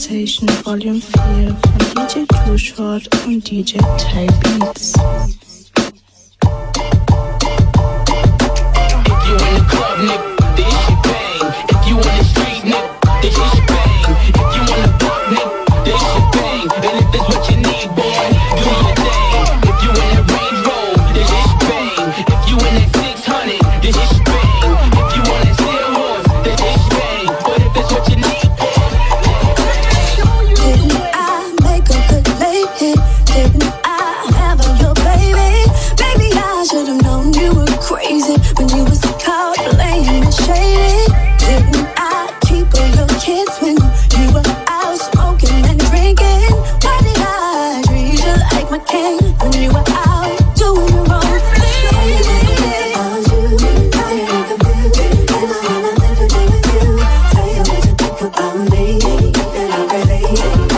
Sensation Volume 4 von DJ Too Short und DJ Ty Beats. If you in the club, nigga, this shit bang. If you in the street, nigga, this shit bang. If you in the park, nigga, this shit bang. And if it's what you need, boy, do your thing. If you in the Range Rover, this shit bang. If you in that 600, this shit bang. If you on that steel horse, this shit bang. But if it's what you need, didn't I make a good lady? Didn't I have your baby? Maybe I should've known you were crazy when you was caught playing and shady. Didn't I keep all your kids when you were out smoking and drinking? Why did I treat you like my king when you were out doing your own thing? About me, that I'm crazy.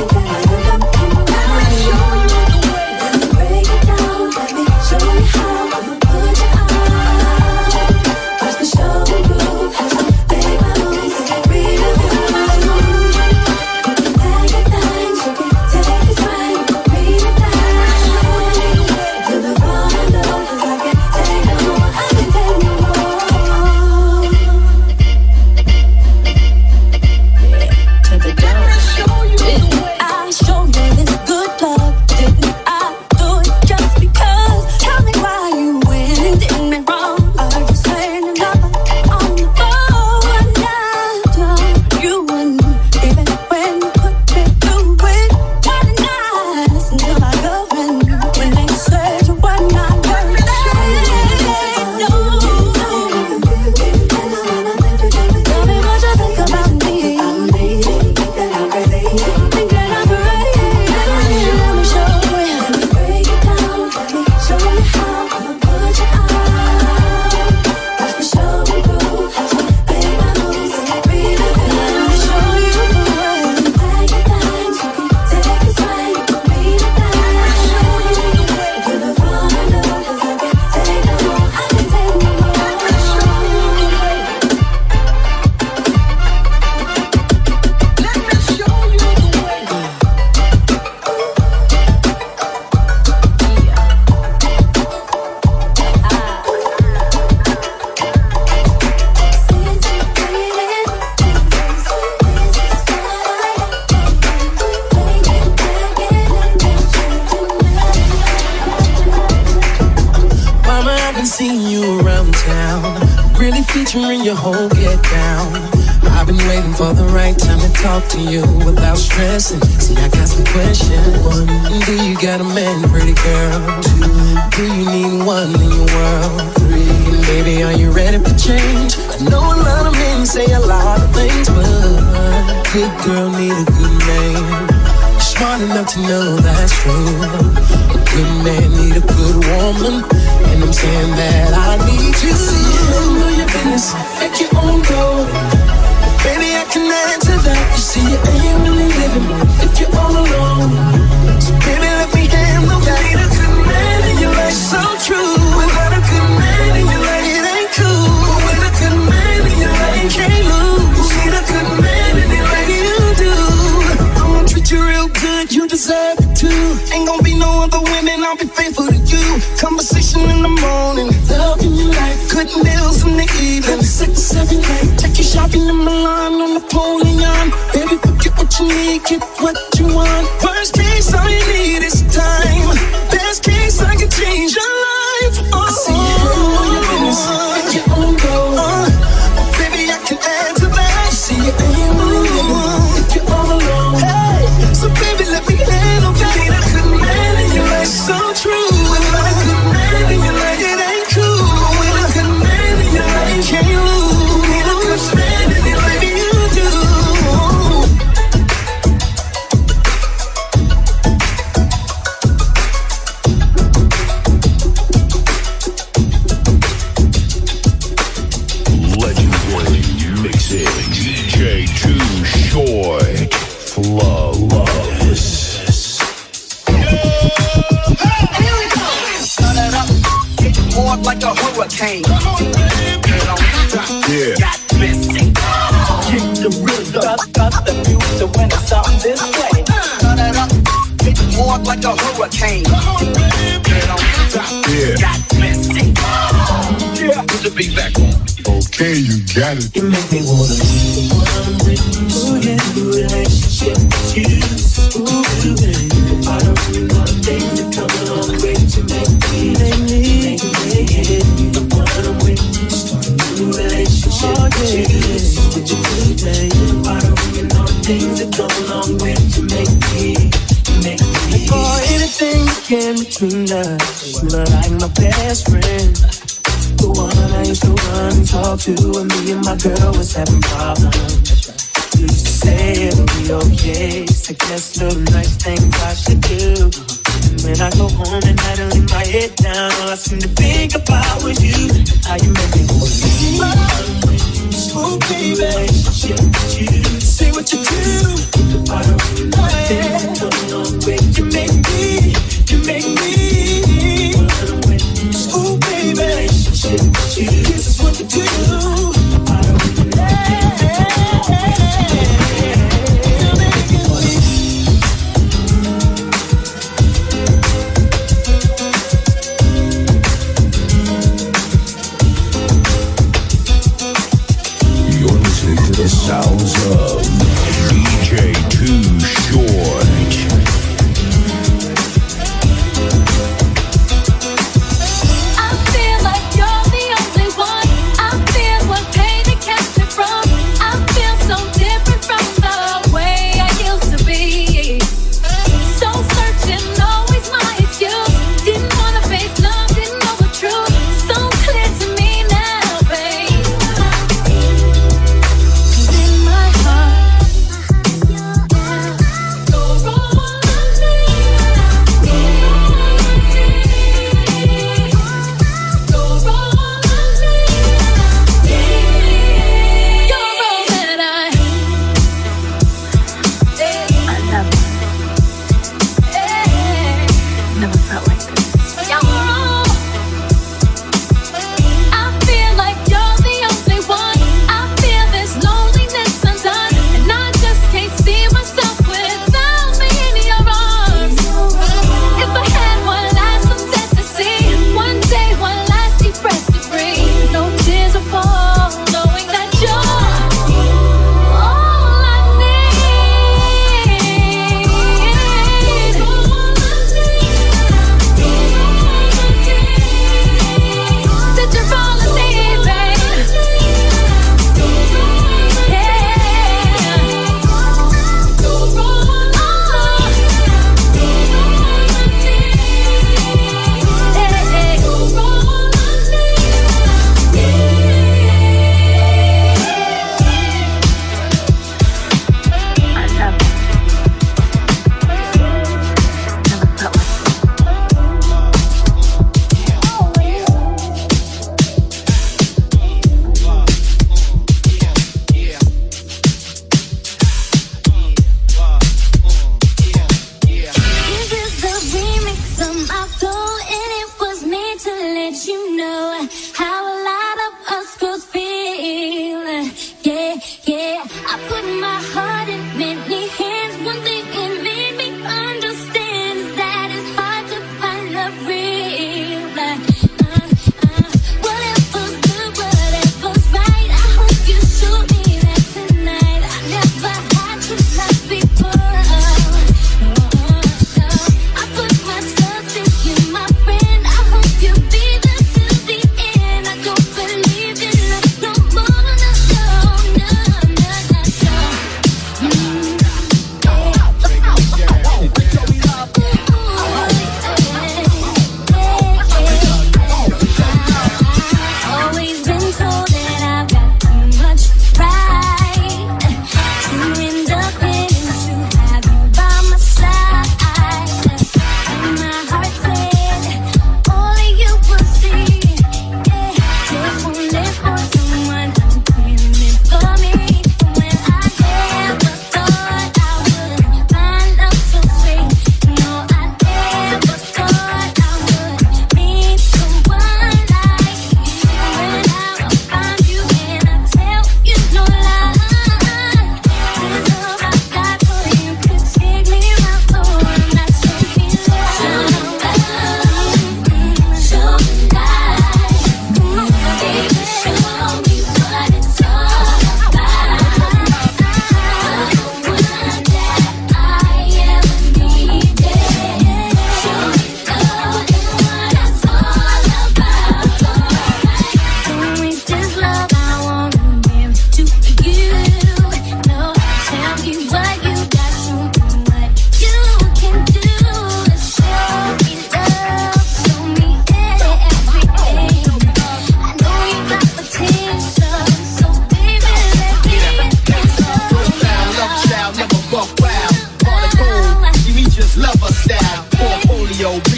Featuring your whole get down. I've been waiting for the right time to talk to you without stressing. See, I got some questions. 1, do you got a man, pretty girl? 2, do you need one in your world? 3, baby, are you ready for change? I know a lot of men say a lot of things, but a good girl need a good man. You're smart enough to know that's true. A good man need a good woman, and I'm saying that I need you. Handle your business, make your own goal. Baby, I can add to that. You see, you ain't really living if you're all alone. So baby, let me handle that. Need a good man in your life, so true. Without a good man in your life, it ain't cool. But with a good man in your life, you can't lose. Need a good man in your life, you do. I'ma treat you real good, you deserve it too. Ain't gon' be no other women, I'll be faithful to you. Conversation in the morning, love in your life, good meals in the evening, 6 or 7 nights. Take you shopping in Milan on Napoleon. Baby, get what you need, get what you want. Worst case, all you need is time. Best case, I can change your life. Oh, I see you handle your business, make your own goal. Baby, I can add to that. See you ain't moving if you're all alone. Hey, so baby, let me handle that. Need a good man in your life, so true. Without a good man in your life, it ain't cool. With a good man in your life, can't lose. Need a good man in your life, you do. Legendary mixing, DJ Too Short, Flawless. Hard like a hurricane. Yeah. Got missing. Kick the rhythm. Got the music So when I start this way, turn it up, hit hard like a hurricane. Get on top, got messy. Yeah, put the beat back on. Okay, you got it. You make me wanna be the one with you. So get a relationship with you. Ooh, baby. I don't really want things to come along with to make me the one with you. Start a new relationship with you. What you do, baby? I don't really know things that come along with to make me. For anything that came between us, you were like my best friend. The one I used to run and talk to when me and my girl was having problems. You used to say it'll be okay, suggest little nice things I should do. And when I go home at night and lay my head down, all I seem to think about was you. How you make me want oh baby, say what you do. I don't really know things coming on with you. You make me. Oh baby, this is what you do. I don't really You're listening to the sounds of DJ Too Short.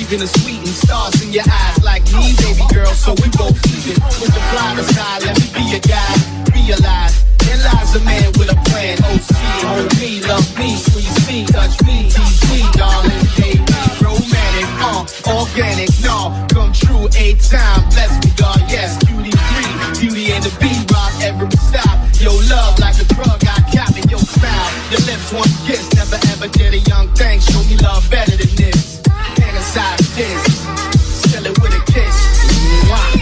even the sweet and stars in your eyes like me, baby girl, so we both even. With the blind aside, let me be your guy. Realize there lies a man with a plan. OC, hold me, love me, squeeze me, touch me, tease me, darling, baby, romantic, organic, no, come true, 8 time, bless me, God, yes, QD3, beauty and the B-rock, every stop, your love like a drug, I got in your style, your lips one kiss, never ever did a young thing, show me love better than this, fantasize this, still it with a kiss, wow.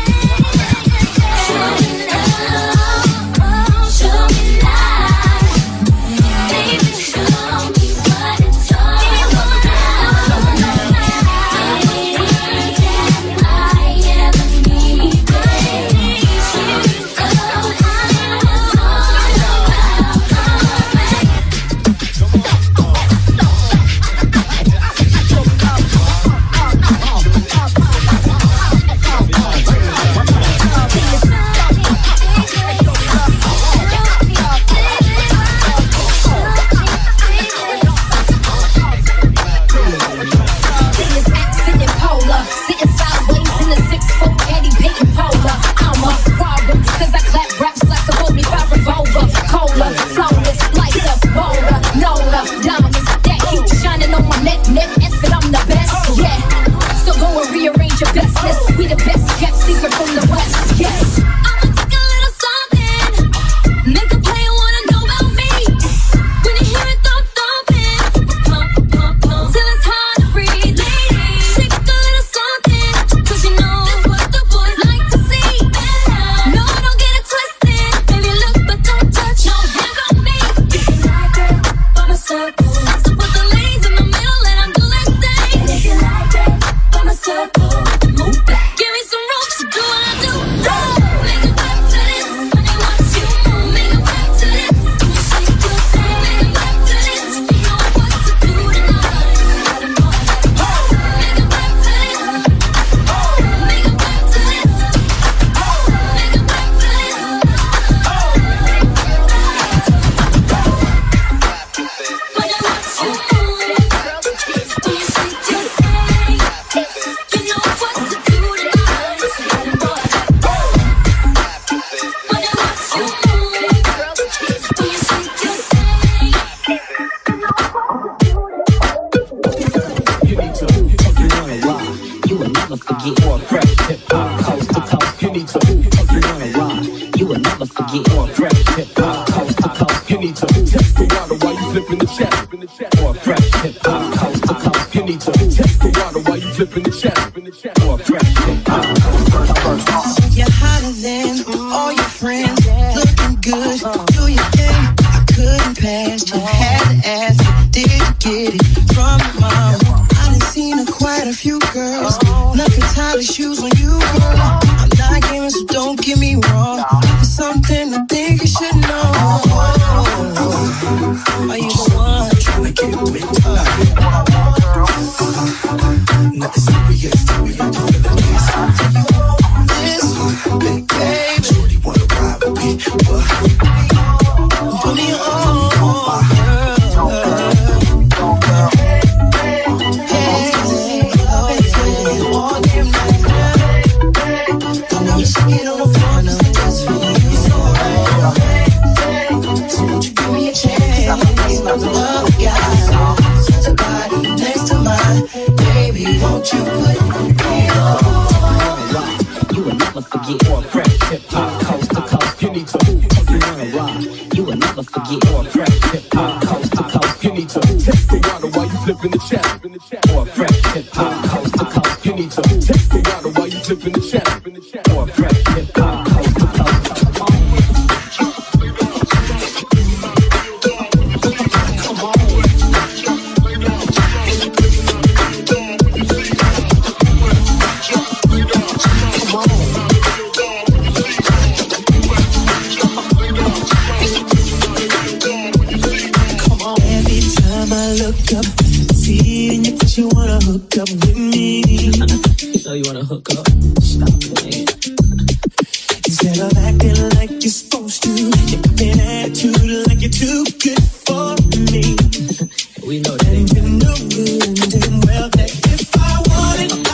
Instead of acting like you're supposed to, you're acting attitude like you're too good for me. We know that. And you know good and damn well that if I wanted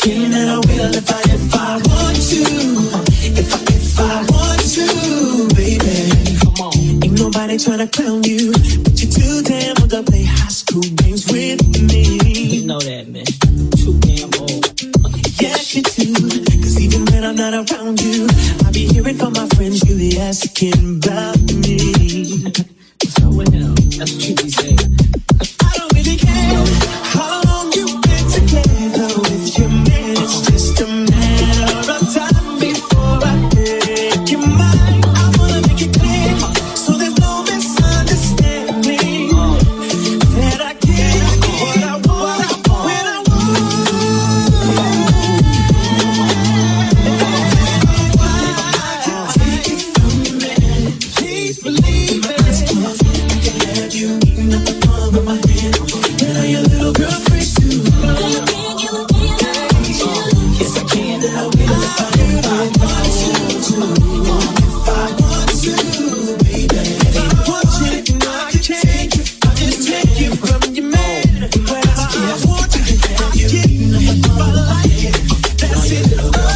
feeling that I will if I want to. If I want to, baby. Come on. Ain't nobody tryna clown you, but you're too damn old to play high school games with me. You know that, man. Too damn old. Yes, you do. Cause even when I'm not around you, I be hearing from my friends you be asking about me. So what now? That's what you be saying. I don't really care how long you've been together with your man. It's just a matter of time before I make you mine. I wanna make it clear so there's no misunderstanding that I get what I want when I want. Take it from me, please believe it. I can have you eating up the palm of my hand, and I your little girlfriend too. Yes, I can, and I will if I want to, baby. If I want you, no, I can take you. I'll just take you from your man. But I want you to have you eating up the palm of my hand. That's it.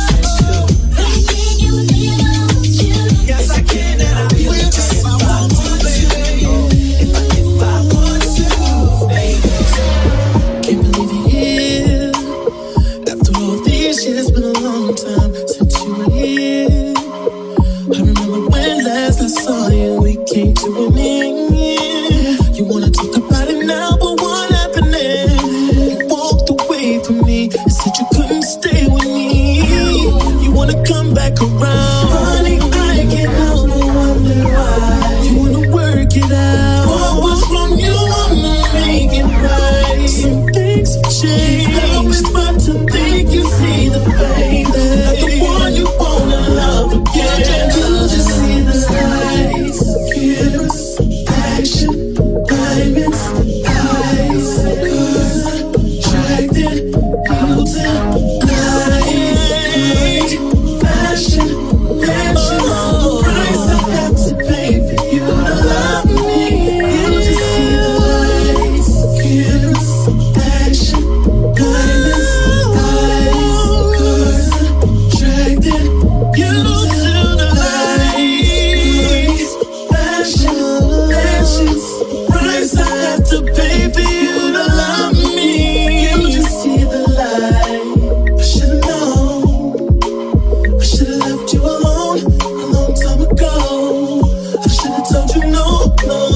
Yes, I can, and I will if I want to, baby. If I want to, baby. Can't believe you're here. After all these years, been a long time since you were here. I remember when last I saw you, we came to an end. You wanna talk about it now, but what happened then? You walked away from me and said you couldn't stay with me. You wanna come back around. Funny, I can't help but wonder why. You wanna work it out. What was wrong? You wanna make it right. Some things have changed. Help me but to think you see the fate. Not the one you wanna love again. You just see the lights, kiss, action, diamonds, eyes, cause attracted you to light, passion, the price I have to pay for you to love me. You just see the lights, kiss, action, diamonds, eyes, cause attracted you to the lights, passions, price I have to pay for you to love me. You just see the light. I should've known. I should've left you alone a long time ago. I should've told you no.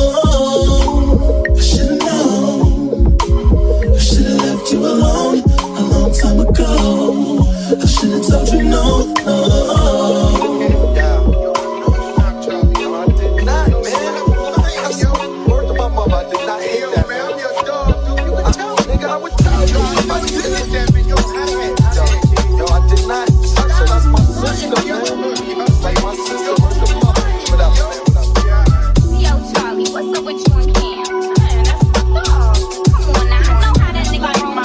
I should've known. I should've left you alone a long time ago. I should've told you no. Yo, Charlie, what's up with you and Cam? Man, that's my dog. Come on now, I know how that nigga gon'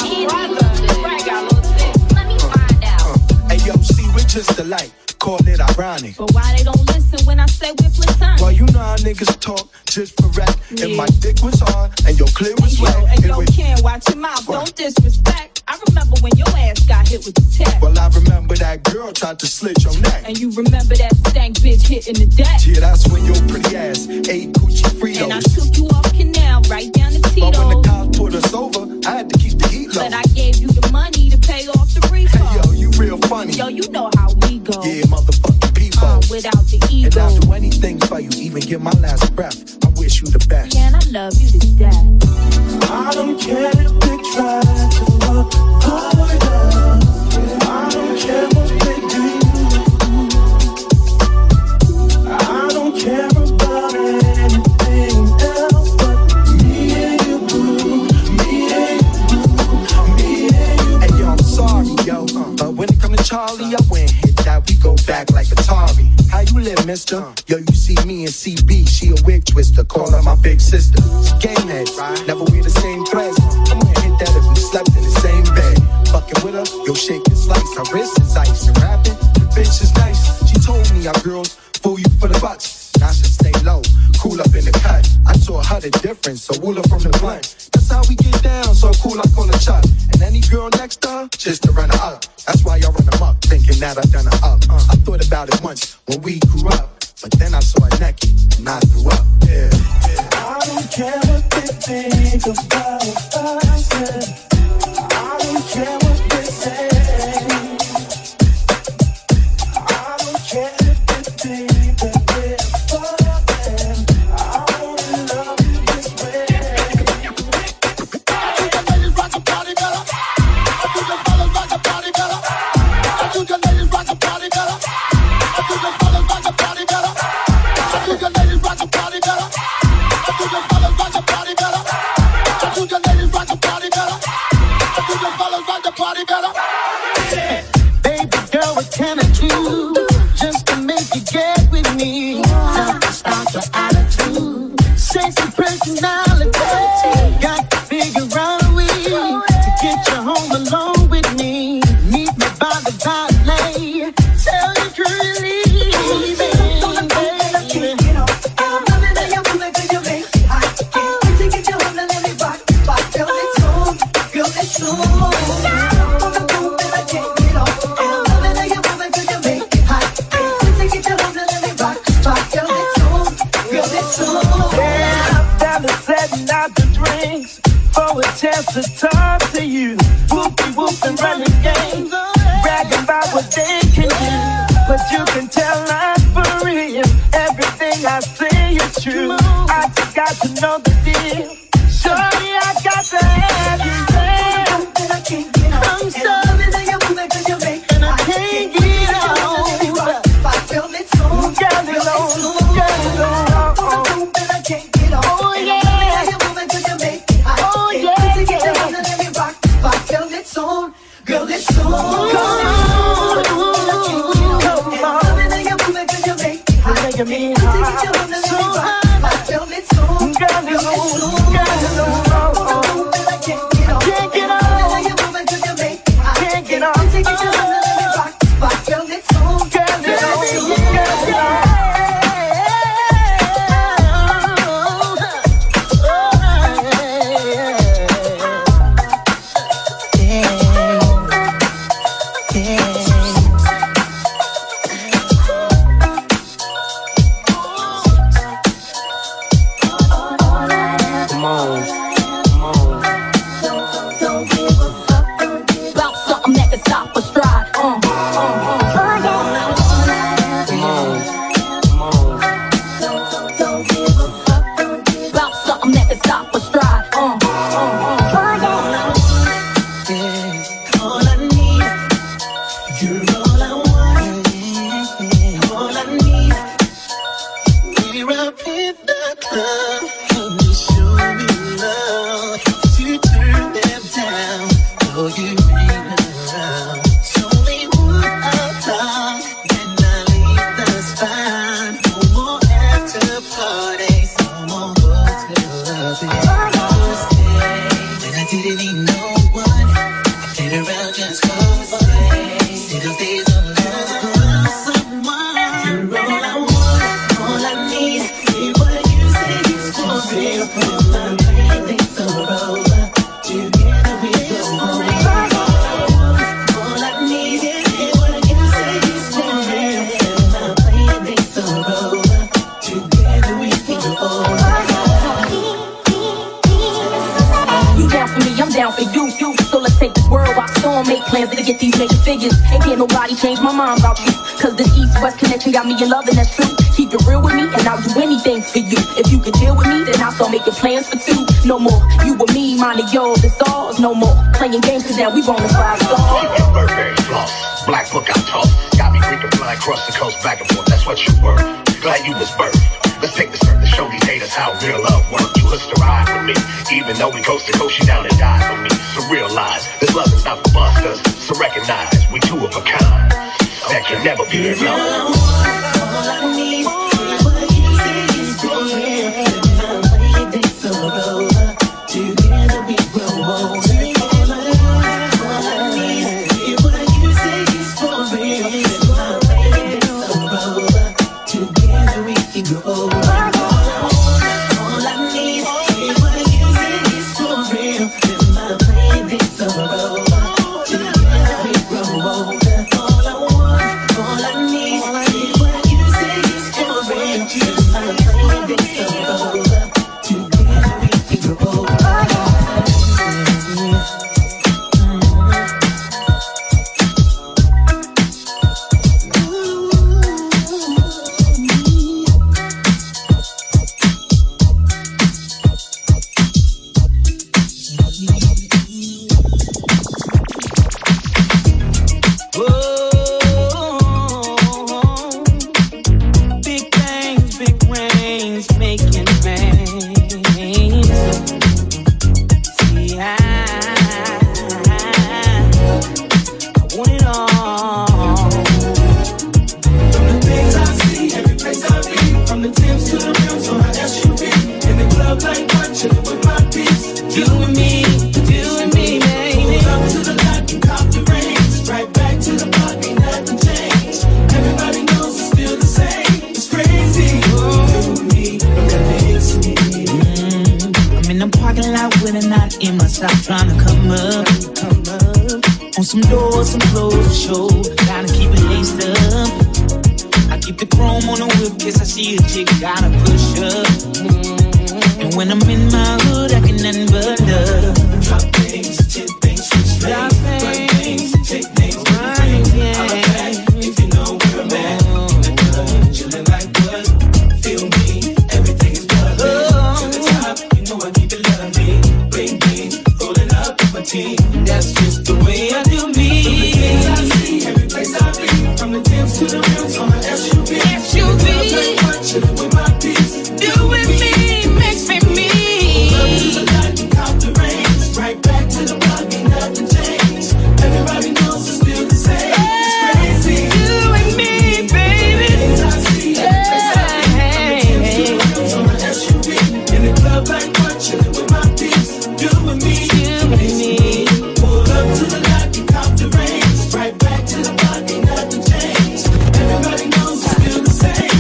end. Let me find out. Hey, yo, see, we're just alike. Call it ironic. But why they don't listen when I say we're platonic? Well, you know how niggas talk just for rap. And my dick was hard and your clit was wet. And yo, Ken, watch your mouth, don't disrespect. I remember when your ass got hit with the tech. Well, I remember that girl tried to slit your neck. And you remember that stank bitch hitting the deck. Yeah, that's when your pretty ass ate Gucci Fritos. And I took you off Canal right down to Tito's. But when the cops pulled us over, I had to keep the heat low. But I gave you the money to pay off the refund. Hey, yo, you real funny. Yo, you know how we go. Yeah, motherfucking people. Without the ego. And I'll do anything for you, even give my last breath. I wish you the best. Yeah, and I love you to death. I don't care if they try to avoid us. I don't care what they do. I don't care about anything else but me and you, boo. Me and you, me and you. Hey, yo, I'm sorry, yo. But when it come to Charlie, I went hit that. We go back like Atari. How you live, mister? Yo, you see me and CB, she a wig twister. Call her my big sister. She game heads, never wear the same threads. I'm gonna hit that if we slept in the same bed. Fucking with her, yo, shake and slice. Her wrist is ice and rapping. The bitch is nice. She told me our girls fool you for the bucks. I should stay low, cool up in the cut. I taught her the difference, so wool her from the blunt. That's how we get down, so cool I call her Chuck. And any girl next to her, just to run her up. That's why y'all run amok, thinking that I done her up. I thought about it once when we grew up, but then I saw her naked and I grew up. Yeah. I don't care what they think about us. I don't care what they say. I don't care if they think that we're fucking. I only love you this way. I think the ladies rock the party better. I think the fellas rock the party better. I think the ladies rock the party better. I think the fellas rock the party better. I think the ladies rock the party better. I think the fellas rock the party better. I think the ladies rock the party better. I think the fellas rock the party better. Baby girl, what can I do just to make you get with me? Not to start your attitude, sexy personality. Got to figure out a way to get you home alone with me. Meet me by the valet. Tell you truly, chance to talk to you, whoopie whoop and running games, bragging about what they can do, but you can tell I'm for real. Everything I say is true. I just got to know the deal. Shorty, I got to have you there. I'm sorry that you're moving 'cause you make and I can't get on. Girl, it's on, girl, it's on, girl, it's on. Oh yeah. Girl, it's on. Come on. Come on. Making me hot. So hot. Girl, it's on. Girl, it's on. I can't get on. Can't get on. Girl, it's on. Girl, it's on. Got me in love and that's true. Keep it real with me and I'll do anything for you. If you can deal with me, then I'll start making plans for two. No more you and me, mine and yours, it's ours. No more playing games cause now we wanna five stars. Burberry floss, black book I toss. Got me freaking flying across the coast back and forth, that's what you were. Glad you was birthed. Let's take the start to show these haters how real love works. You used to ride with me, even though we coast to coast, you down and die for me. So realize, this love is not for busters. So recognize, we two of a kind that can never be alone. All I need is what you say is for real. My baby, so over. Together we grow old. All I need is what you say is for real. My baby, so over. Together we can grow old. All I need is what you say is for real. My baby, so over. Together we grow old. club like one, chillin' with my peeps. You and me, baby. Pull up to the lot and cop the range. Right back to the park, ain't nothing changed. Everybody knows it's still the same. It's crazy. You and me, I'm in the parking lot with a knot in my sock, trying to come up. On some doors, some clothes for show. Gotta keep it laced up. I keep the chrome on the whip, guess I see a chick, gotta push up. And when I'm in my hood, I can nothing but love. drop things, chip things, switch lanes, run things, take things, right, yeah. I'm back if you know where I'm at. In the club, chillin' like what? Feel me, everything is lovely. To the top, you know I keep it lovely. Bring me, rolling up with my team. That's just the way I do me. From the things I see, every place I be. From the Timbs to the rims on my SUV. Like what? Chillin' with my peeps. You with me, makes me me. Up to the light and count the rains. Right back to the block, ain't nothing changed. Everybody knows it's still the same. It's crazy. You and me, baby. Things I see, every place I be. From the Timbs to the rims on my SUV. In the club like what? Chillin' with my peeps. You and me, pull up to the light and count the rains. Right back to the block, ain't nothing changed. Everybody knows it's still the same.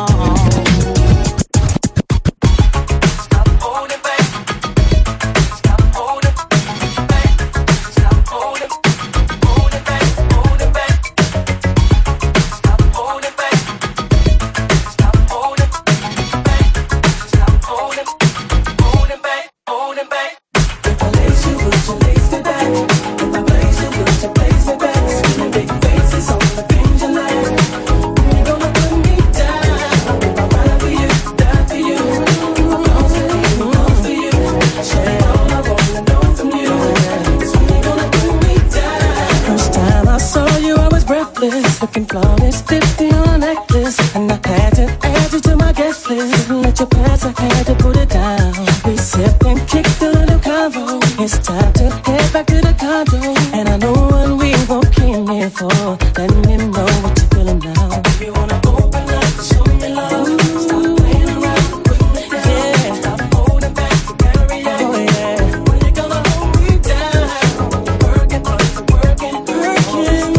Looking flawless, 50 on a necklace. And I had to add you to my guest list. Didn't let you pass, I had to put it down. We sipped and kicked a little convo. It's time to head back to the condo. And I know what we both came here for. Let me know what you're feeling now. If you wanna open up, show me love. Stop playing around, put me down. Yeah. Stop holding back, you gotta react. Oh yeah. When you gonna hold me down? Working, working, working.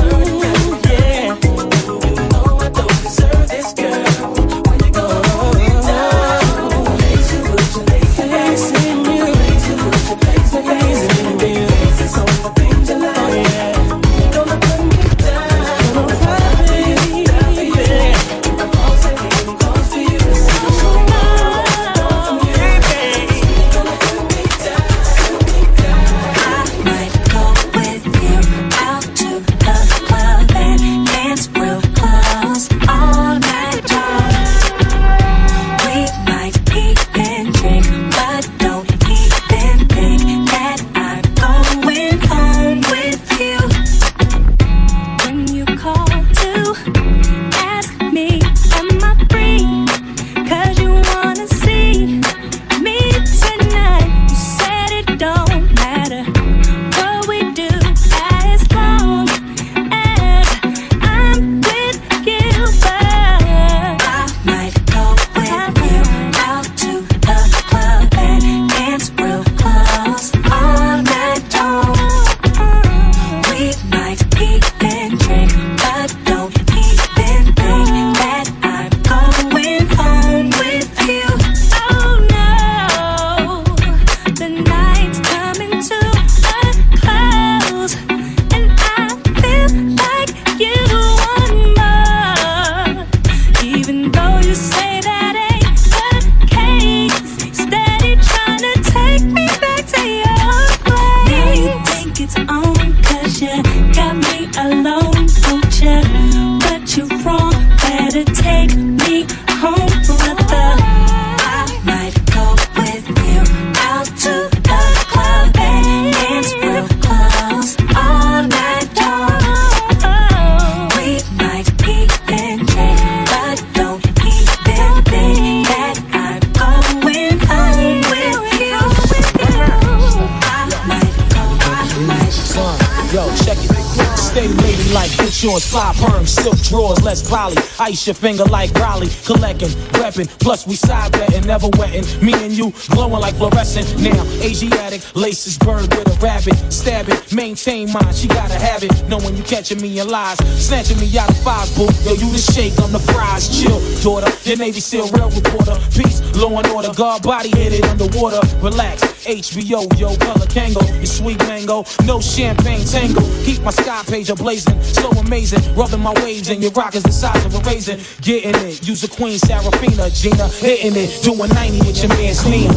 shorts, fly perms, silk drawers, less poly. Ice your finger like Raleigh, collecting, repping. Plus we side betting, never wetting. Me and you glowing like fluorescent. Now Asiatic, laces bird with a rabbit. Stab it, maintain mine, she gotta have it. Knowing you catching me in lies, snatching me out of fives, boo. Yo, you the shake, I'm the fries. Chill, daughter, your Navy SEAL real reporter. Peace, law and order, guard body hit it underwater. Relax, HBO, yo, color Kango, your sweet mango, no champagne tango. Keep my sky page blazing, so amazing. Rubbing my waves and your rock is the size of a raisin. Getting it, use a Queen Serafina, Gina, hitting it, doing 90 with your man Sneem.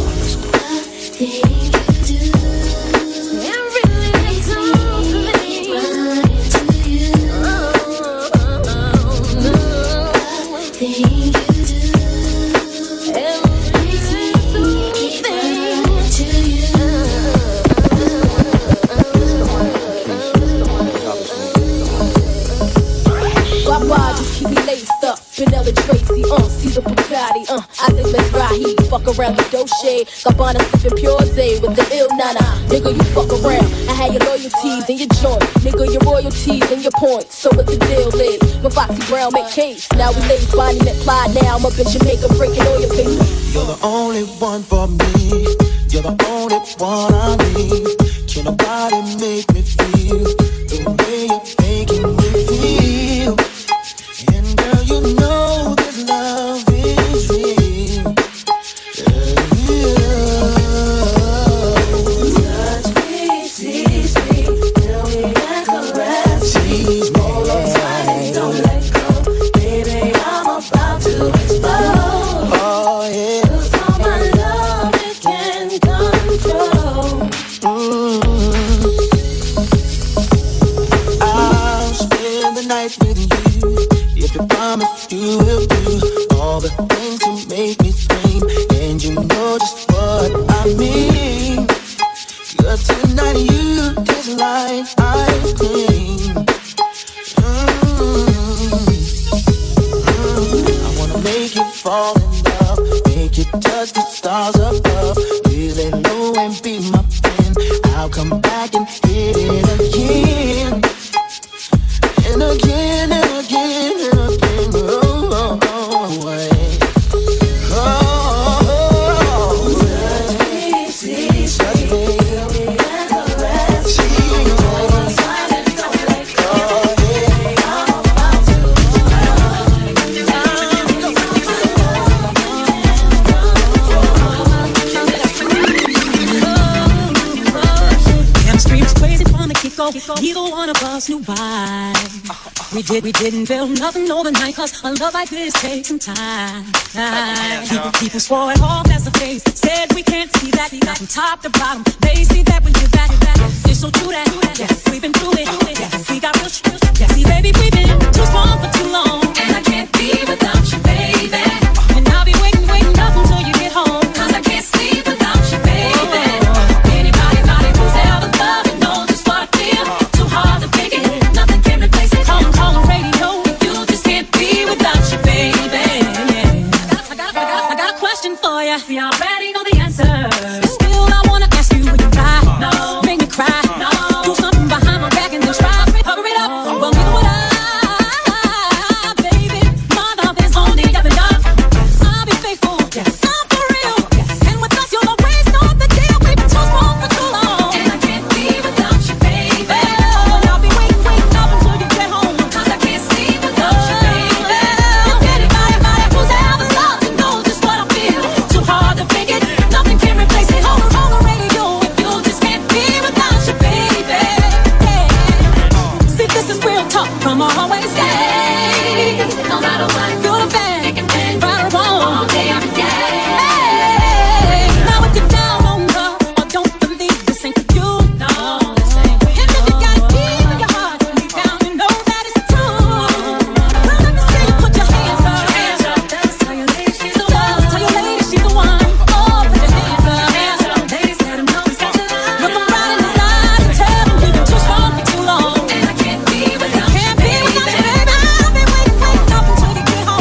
Vanilla Tracy, Caesar Bugatti, I think let's ride he fuck around the Dolce, Gabbana sippin' Pure Zay with the ill nana. Nigga, you fuck around, I had your loyalties in your joint. Nigga, your royalties and your points, so what the deal is? When Foxy Brown make case, now we ladies finding that fly. Now I'm up in Jamaica breaking all your papers. You're the only one for me, you're the only one I need. Can nobody make me feel the way you're making me feel? And girl, you know this love is real. Touch me, tease me, tell me I caress. Tease me, hold on tight, don't let go. Baby, I'm about to explode. Oh yeah, 'cause all my love it can control. I'll spend the night with you. If you promise you will do all the things to make me scream, and you know just what I mean. 'Cause tonight you taste like ice cream. I wanna make you fall in love, make you touch the stars above. Please lay low and be my friend. I'll come back and hit it again. And again and again and again. Oh, oh, oh, wait. Oh, touch me, tease me, feel me and caress. Hold on tight and don't let go. Yeah, I'm about to Chemistry's crazy from the get-go. Neither one of us knew why. We didn't build nothing overnight, 'cause a love like this takes some time. People swore it off as a face, said we can't see that from top to bottom. They see that when you're back. It's so true that yes, we've been through it. Yes, we got real shit. Yes, see, baby, we've been too strong for too long, and I can't be without you, baby. And I'll be waiting up until you get home, 'cause I can't sleep without you, baby. Anybody who's ever loved it knows just what I feel. Too hard to pick it, nothing can replace it. Call the radio, you just can't be without you, baby. I got a question for you. See, I already know the answer. Still, I wanna ask you, would you cry? No. Make me cry? No. Do something behind my back and then try cover it up. Well, neither would I, baby. My love is only up and up. I'll be faithful. Yes. I'm for real. Yes. And with us, you'll always know the deal. We've been too strong for too long, and I can't be without you, baby. And I'll be waiting up until you get home, 'cause I can't sleep without you, baby. Anybody who's ever loved it knows just what I feel. Too hard to fake it, nothing can replace it. Hold on the radio, if you just can't be without you, baby. Yeah. See, this is real talk from always say. No matter what, good or bad, right or wrong, all day, every day. Hey, now if you're down on love or don't believe this ain't for you, no, this ain't. And if you got deep in your heart, deep down you know that it's true. Well, let me see you put your hands up. Tell your lady she's the one. Tell your lady she's the one. Oh, put your hands up. Ladies, let them know it's got your love. Look them right in his eyes and tell them you've been too strong for too long, and I can't be without you, baby. I'll be waiting up until you get home.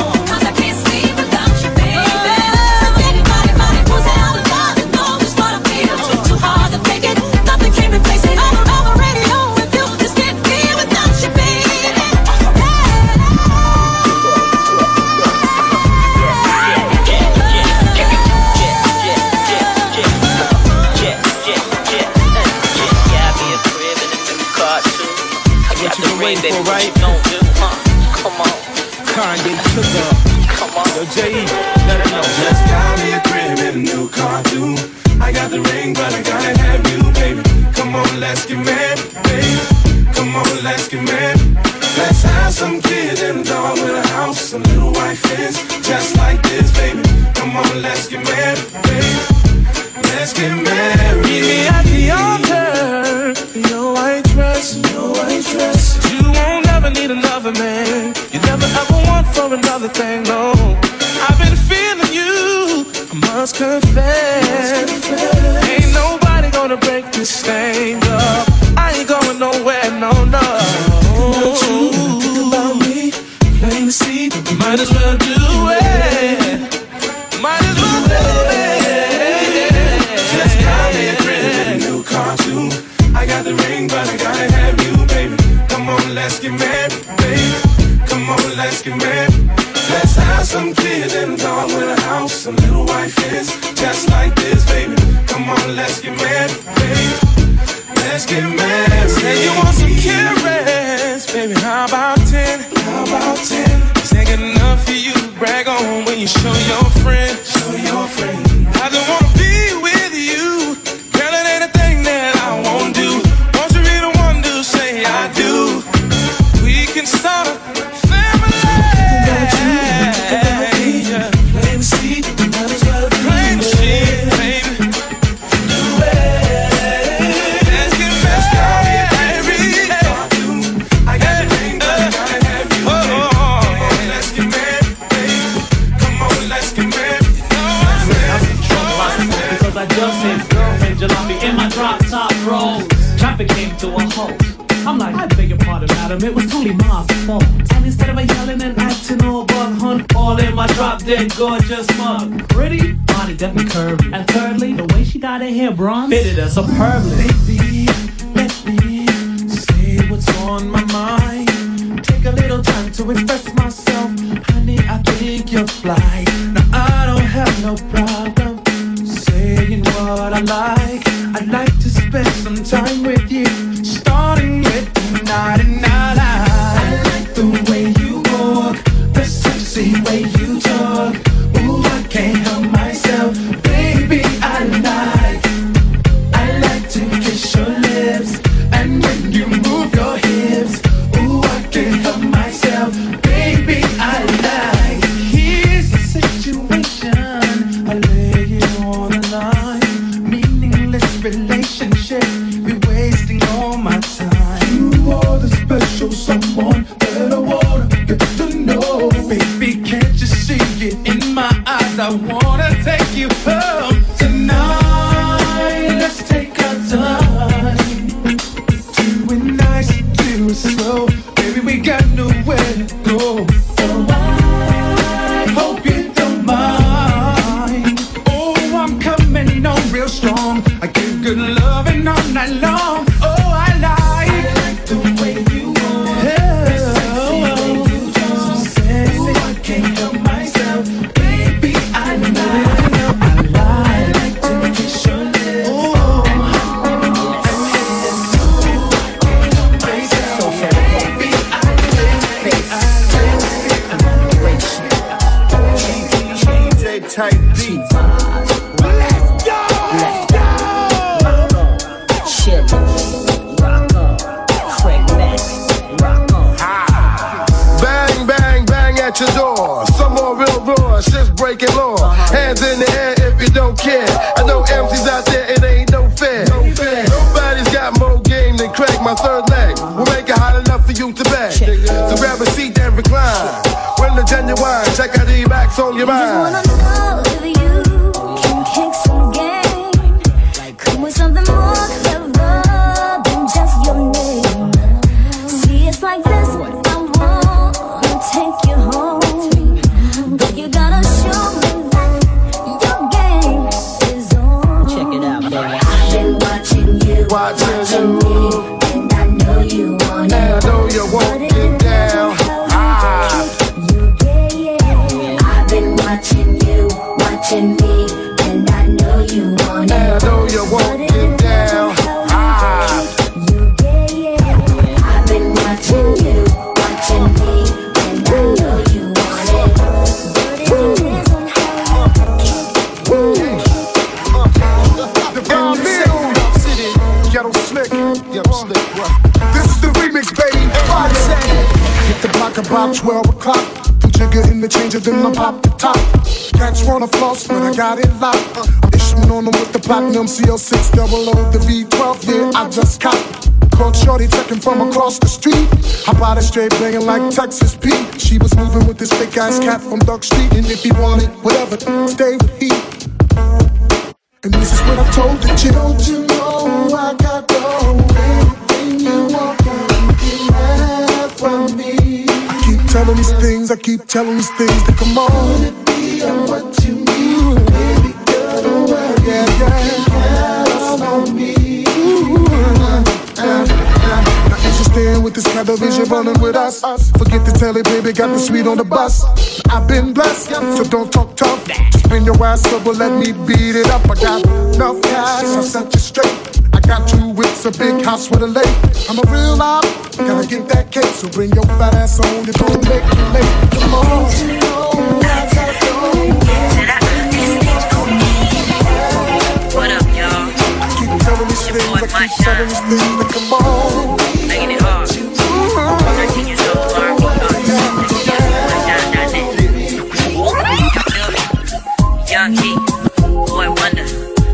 right? No, come on. Kanye took up. Come on. Yo, J.E., let it know. Just got me a crib and a new car too. I got the ring, but I gotta have you, baby. Come on, let's get married, baby. Come on, let's get married. Let's have some kids and a dog with a house, some little white fence, just like this, baby. Come on, let's get married, baby. Let's get married. Meet me at the altar, your white dress, your white dress. You won't ever need another man. You never ever want for another thing, no. I've been feeling you, I must confess. Ain't nobody gonna break this thing up. I ain't going nowhere, no. Think about me, plain to see. Might as well do it. Might as well do it. Just got me a crib and a new car too. I got the ring, but I gotta have you, baby. Come on, let's get married, baby. Come on, let's get married. Let's have some kids and a dog with a house, some little white fence, just like this, baby. Come on, let's get married, baby. Let's get married. Say you want some carrots, baby, how about 10? How about 10? This ain't good enough for you to brag on when you show your friend. Show your friend. I just wanna be with you. Girl, it ain't a thing that I won't do. Won't you be the one to say I do? We can start a family. Plain to see, might as well be plain to see, baby. Do it. Let's get married, baby. I got the ring, but I gotta have you, baby. Come on, let's get married, baby. Come on, let's get married. Because I just hit girlfriend jalopy in my drop top rolls. Traffic came to a halt. I'm like, I beg your pardon, madam, it was totally my fault. And instead of yelling and acting all bug hunt, all in my drop dead gorgeous mug. Pretty, body definitely curvy. And thirdly, the way she dyed her hair bronze fitted her superbly. Baby, let me say what's on my mind. Take a little time to express myself. Honey, I think you're fly. Now I don't have no problem saying what I like. I'd like to spend some time with you, starting with tonight and night. I like the way you walk, the sexy way you talk. Ooh, I can't help myself, baby. I like to kiss your lips, and when you move your hips, ooh, I can't help myself, baby. I like. Here's the situation, I lay it on the line. Meaningless relationship, be wasting all my time. You are the special someone that I wanna get to know. Baby, can't you see it in my eyes? I wanna take you home tonight. Let's take our time, do it nice, do it slow. Baby, we got nowhere to go. Oh, I hope you don't mind. Oh, I'm coming on real strong. I give good loving all night long. Oh, I like the way you walk, the sexy way you talk. So sexy, I can't help myself, baby. I like to kiss your lips. Oh, DJ Type Beats. Let's go! Let's go! Shit. Rock on. Craig Mack. Rock on. Bang, bang, bang at your door. Some more real raw, shit's breaking law. Hands in the air if you don't care. I know MCs out there, it ain't no fair. Nobody's got more game than Craig, my third leg. We'll make it hot enough for you to beg. So grab a seat and recline. When the genuine, check out the backs on your mind. I just wanna know if you can kick some game. Come with something more clever than just your name. See, it's like this, I wanna take you home, but you gotta show me that your game is on. Check it out, baby. I've been watching you, and I know you want it. And I know you won't get down. I've been watching you. o'clock, about 12 o'clock. Put jigger in the changer, then I pop the top. Cats wanna floss, but I got it locked. I'm issuing on them with the platinum CL600, the V12, yeah, I just copped. Caught shorty checking from across the street. Hop out of straight banging like Texas Pete. She was moving with this fake ass cat from Duck Street. And if he wanted whatever, stay with he. And this is what I told the chick. Don't you know I got the anything you want, you can have from me. I keep telling these things, that come on. It be what you need, baby girl, don't worry, yeah. Count on me. Now interested with this kind of vision running with us. Forget to tell it, baby, got the sweet on the bus. I've been blessed, so don't talk tough. Just bring your ass over, let me beat it up. I got enough cash, I'll set you straight. I got 2 whips, a big house with a lake. I'm a real op, gotta get that cake. So bring your fat ass on, it don't make me late. Come on, you know I gotta go. What up, y'all? Telling these things, I keep telling these things that come on. Making it hard. 13 years old, Young Key, Boy Wonder,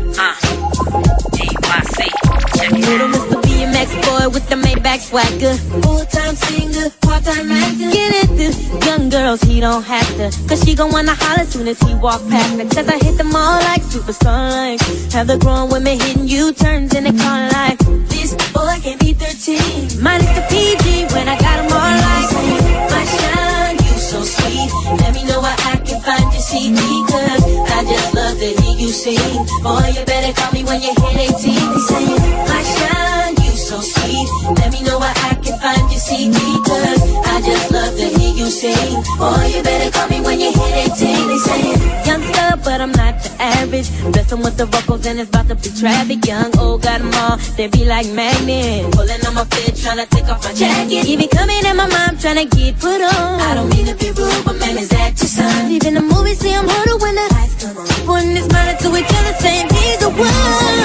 DYC, check it Little Mr. BMX boy with the Maybach swagger. Full-time singer, part-time actor. Get it, this young girls, he don't have to. Cause she gon' wanna holler soon as he walk past her. Cause I hit them all like super sunlight. Have the grown women hitting U-turns in the car like this boy can be 13. Minus the PG when I got them all like my shine, you so sweet. Let me know where I can find your CD. Cause I just love to hear you sing. Boy, you better call me when you hit 18. They say, my shine, you so sweet. Let me know where I can find your CD. Cause I just love to hear you sing. Boy, you better call me when you hit 18. They say, youngster, but I'm not the average. Blessing with the vocals and it's about to be traffic. Young, old, got them all, they be like magnets. Pulling on my fit, trying to take off my jacket. He be coming in my mind, trying to get put on. I don't mean to be rude, but man, is that your son? Even the movie, see him hold when the lights come on. Putting his mind to each other, saying he's the one.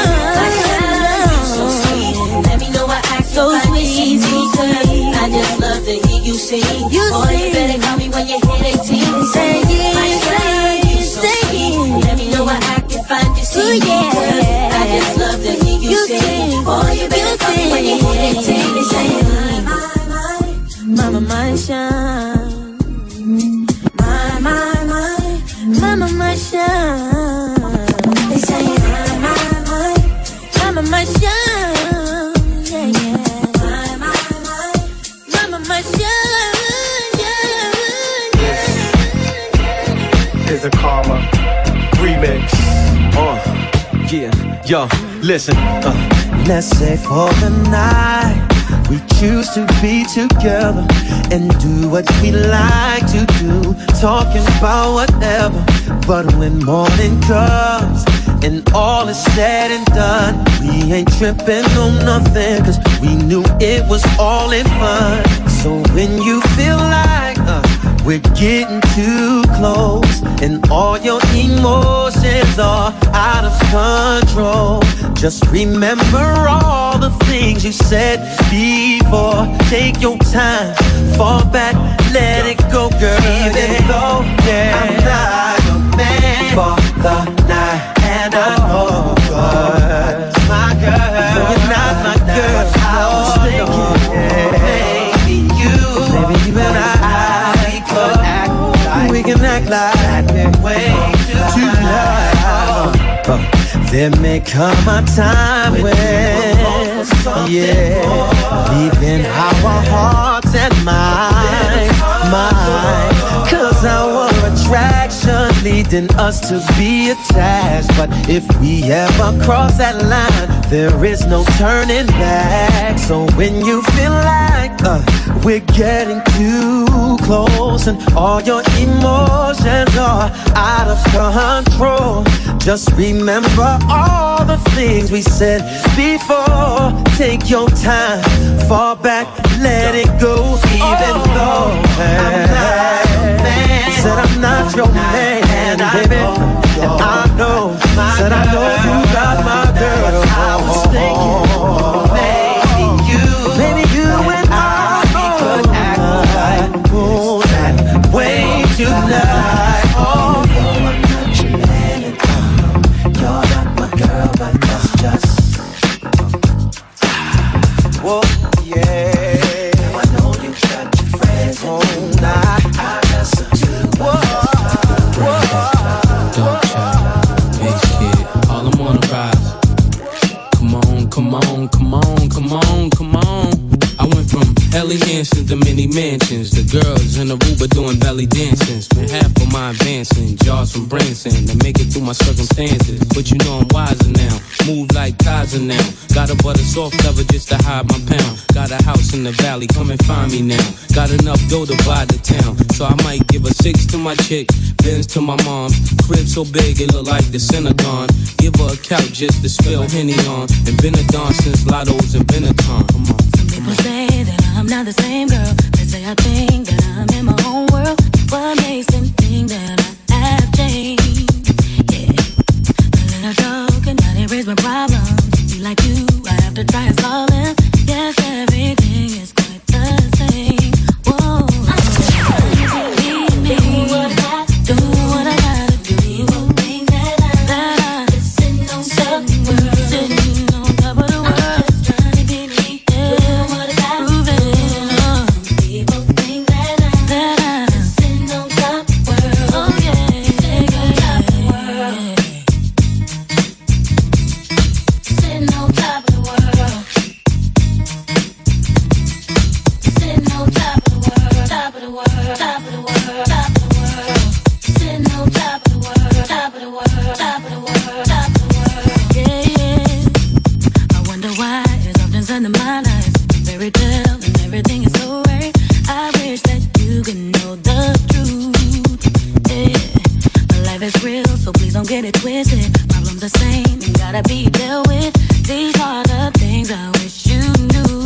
So sweet, let me know what I can so find sweet, sweet. I just love to hear you sing. Boy, you better call me when you hit 18. Say it, say it. Let me know what I can find you sing. I just love to hear you sing. Boy, you better call me when you hit 18. Say it, mama, my shine. My shine. They say my shine. Yeah, yeah. My shine. Yeah. Is a Karma remix. Yeah, yo, listen. Let's say for the night we choose to be together and do what we like to do, talking about whatever. But when morning comes and all is said and done, we ain't tripping on nothing, cause we knew it was all in fun. So when you feel like we're getting too close and all your emotions are out of control, just remember all the things you said before. Take your time, fall back, let it go, girl. Even though I'm not your man for the night, and I know my girl, you're not my girl. I was thinking maybe you and I we can act like we're way too loud. There may come a time when, leaving our hearts and minds, cause our attraction leading us to be attached. But if we ever cross that line, there is no turning back. So when you feel like we're getting too close and all your emotions are out of control, just remember all the things we said before. Take your time, fall back, let it go. Even though I'm not your man, said I'm not your man, baby, and I know, said I know you got my girl. I was thinking maybe you and I could act like tonight. I got something. Dark child, bass kid, all I'm on the rise. Come on, come on, come on, come on, come on. I went from Ellie Hansons to mini mansions. The girls in the Aruba doing belly dancing. Spent half of my advancing, jars from Branson to make it through my circumstances. But you know I'm wiser now, move like Kaiser now. Got a butter soft cover just to hide my pound. Got a house in the valley, come and find me now. Got enough dough to buy the town, so I might give a 6 to my chick, Benz to my mom. Crib so big it look like the Synagogue. Give her a couch just to spill Henny on. And been a dawn since Lotto's and Benetton. Come on. People say that I'm not the same girl. They say I think that I'm in my own world. What makes them think that I have changed? Yeah, a little joke and now they raise my problems. Be like you, I have to try and solve them. Yes, everything is quite the same. Whoa, do what I gotta do. People think that I'm sitting on top of the world. Sitting on top of the world. Get it twisted, problems the same and gotta be dealt with. These are the things I wish you knew.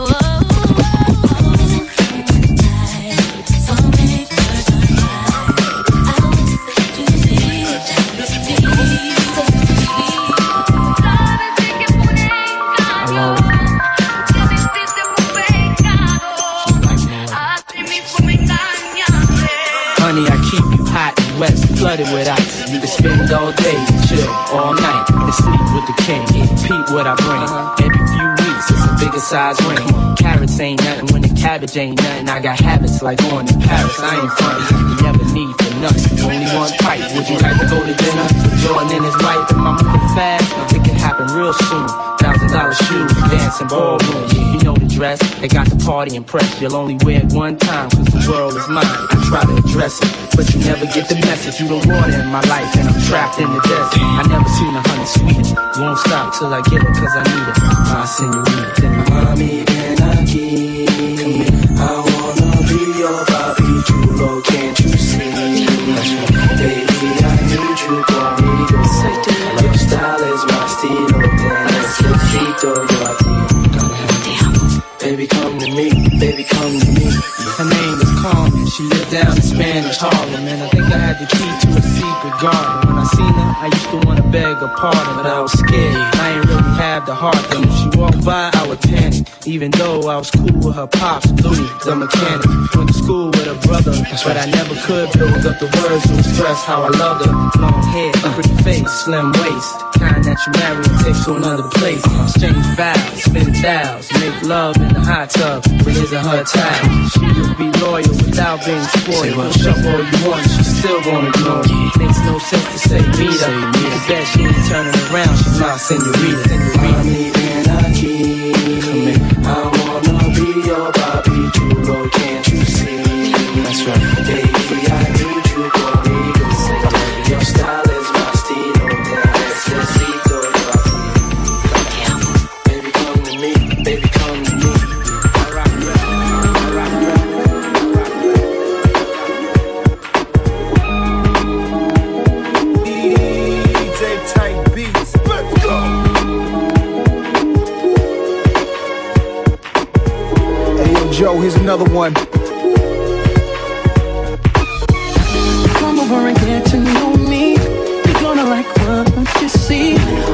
Honey, I keep you hot and wet, flooded with ice. You can spend all day, chill all night, and sleep with the king. Repeat what I bring. Every few weeks, it's a bigger size ring. Carrots ain't nothing when the cabbage ain't nothing. I got habits like going to Paris. I ain't funny. You never need for nuts. Only one pipe. Would you like to go to dinner with Jordan and his wife? Am I moving fast? It can happen real soon. $1,000 shoes, dancing ballroom. You know the dress. They got the party impressed. You'll only wear it one time, cause the world is mine. I try to address it, but you never get the message. You the water in my life, and I'm trapped in the desert. I never seen a honey sweeter. Won't stop till I get it, cause I need it. My senorita. Mami, ven aquí. I wanna be your papi chulo, can't you see? Baby, I need you conmigo. Your style is my estilo. Necesito yo a ti. Baby, come to me. Baby, come to me. Her name is Carmen. She lived down in Spanish Harlem, and I think I had the key to a secret garden. When I seen her, I used to wanna beg her pardon, but I was scared. I ain't really have the heart. And if she walked by, I would panic. Even though I was cool with her pops, Louis, the mechanic. Went to school with her brother, but I never could build up the words to express how I loved her. Long hair, pretty face, slim waist, kind that you marry and take to another place. Exchange vows, spend thousands, make love in the hot tub with his and her time. She would be loyal without being spoiled. Push up all you want, she's still gonna ignore you. Makes no sense to say meet her. The bet she ain't turning around, she's my senorita. Mami, ven aquí. I wanna be your papi chulo, can't you see? That's right. Baby, I need you conmigo. Your style is my estilo. Necesito yo a ti. Baby, come to me. Baby, come to me. DJ Tight Beats. Let's go. Hey, yo, Joe, here's another one. Come over and get to know me. You're gonna like what you see.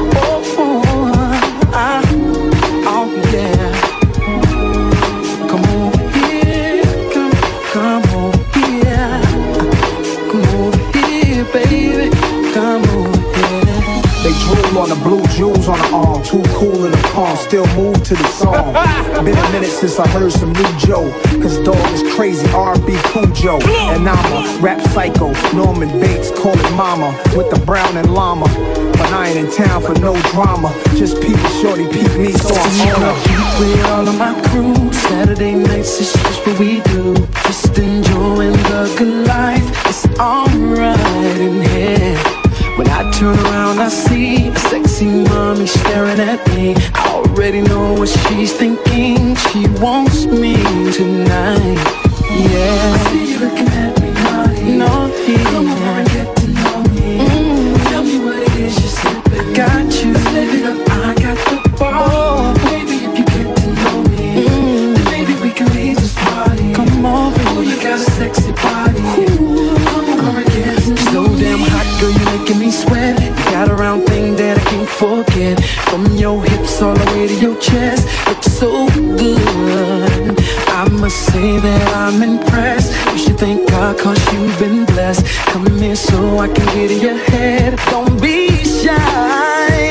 Oh yeah. Come over here. Come over here. Come over here, baby. Come over here. They drool on the blue jewels on the arm. Too cool in the palm, still move to the song. Been a minute since I heard some new Joe. Cause dog is crazy, R&B Cujo. And I'm a rap psycho, Norman Bates, call it mama. With the brown and llama. But I ain't in town for no drama. Just peep shorty, peep me, so I'm on her. With all of my crew, Saturday nights is just what we do. Just enjoying the good life. It's alright in here. When I turn around, I see a sexy mommy staring at me. I already know what she's thinking. She wants me tonight. Yeah. I see you looking at me naughty. Naughty. Come over and get to know me. Tell me what it is you're sipping. Got you. Let's live it up. I got the ball. Baby, if you get to know me, then maybe we can leave this party. Come on, oh, you got a sexy body. Come over and get to know me. So damn hot, girl, you making me sweat. You got a round thing that I can't forget. From your hips all the way to your chest, looks so good. I must say that I'm impressed. You should thank God cause you've been blessed. Come here so I can get in your head. Don't be shy.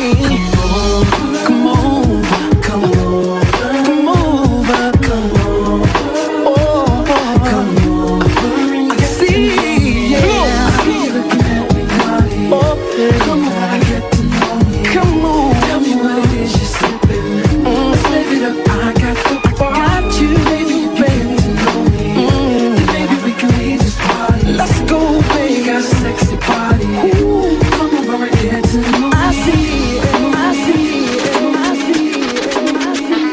Come over, come over, come over, come over, oh, come over. I see, yeah. I see you looking at me naughty. Oh, yeah. Come on, I get to know me. Come on, tell me what it is you're sipping. Let's live it up. I got the bar. Got you, baby, baby. To know me. Then maybe we can leave this party. Let's go, baby. You got a sexy body. Ooh, come over and get to know me. I see it, I see it, I see it, I see it.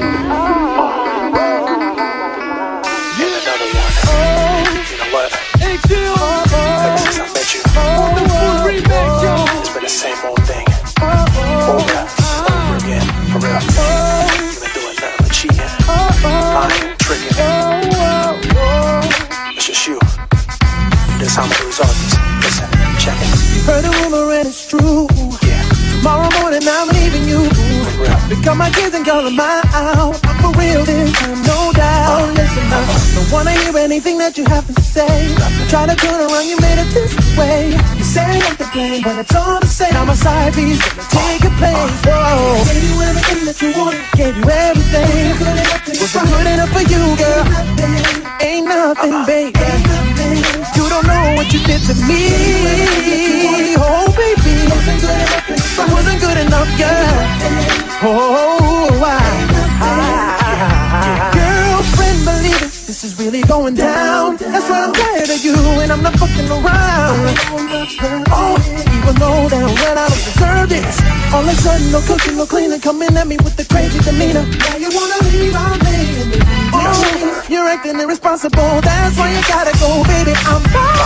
And another one. You know what? Hey, Jill. Ever since I met you, it's been the same old thing. Over again. For real. You've been doing nothing but cheating, lying, tricking. It's just you. This how I'm gonna resolve this. Listen, check it. You heard a rumor and it's true. Yeah. Tomorrow morning I'm leaving you. Pick up my kids and go to my out. I'm for real this time, no doubt. Listen up, don't wanna hear anything that you have to say. Try to turn around, you made it this way. You say I'm to blame, but it's all the same. I'm a side piece, gonna take your place. Whoa. Gave you everything that you wanted, gave you everything. Wasn't good enough for you, girl. Ain't nothing, baby. You don't know what you did to me. Oh, baby. Wasn't good enough, girl. Oh, girlfriend, believe it. This is really going down. That's why I'm tired of you and I'm not fucking around. Oh, even though damn well I don't deserve this. All of a sudden, no cooking, no cleaning, coming at me with the crazy demeanor. Now you wanna leave, I'm leaving. Oh, you're acting irresponsible. That's why you gotta go, baby. I'm fine.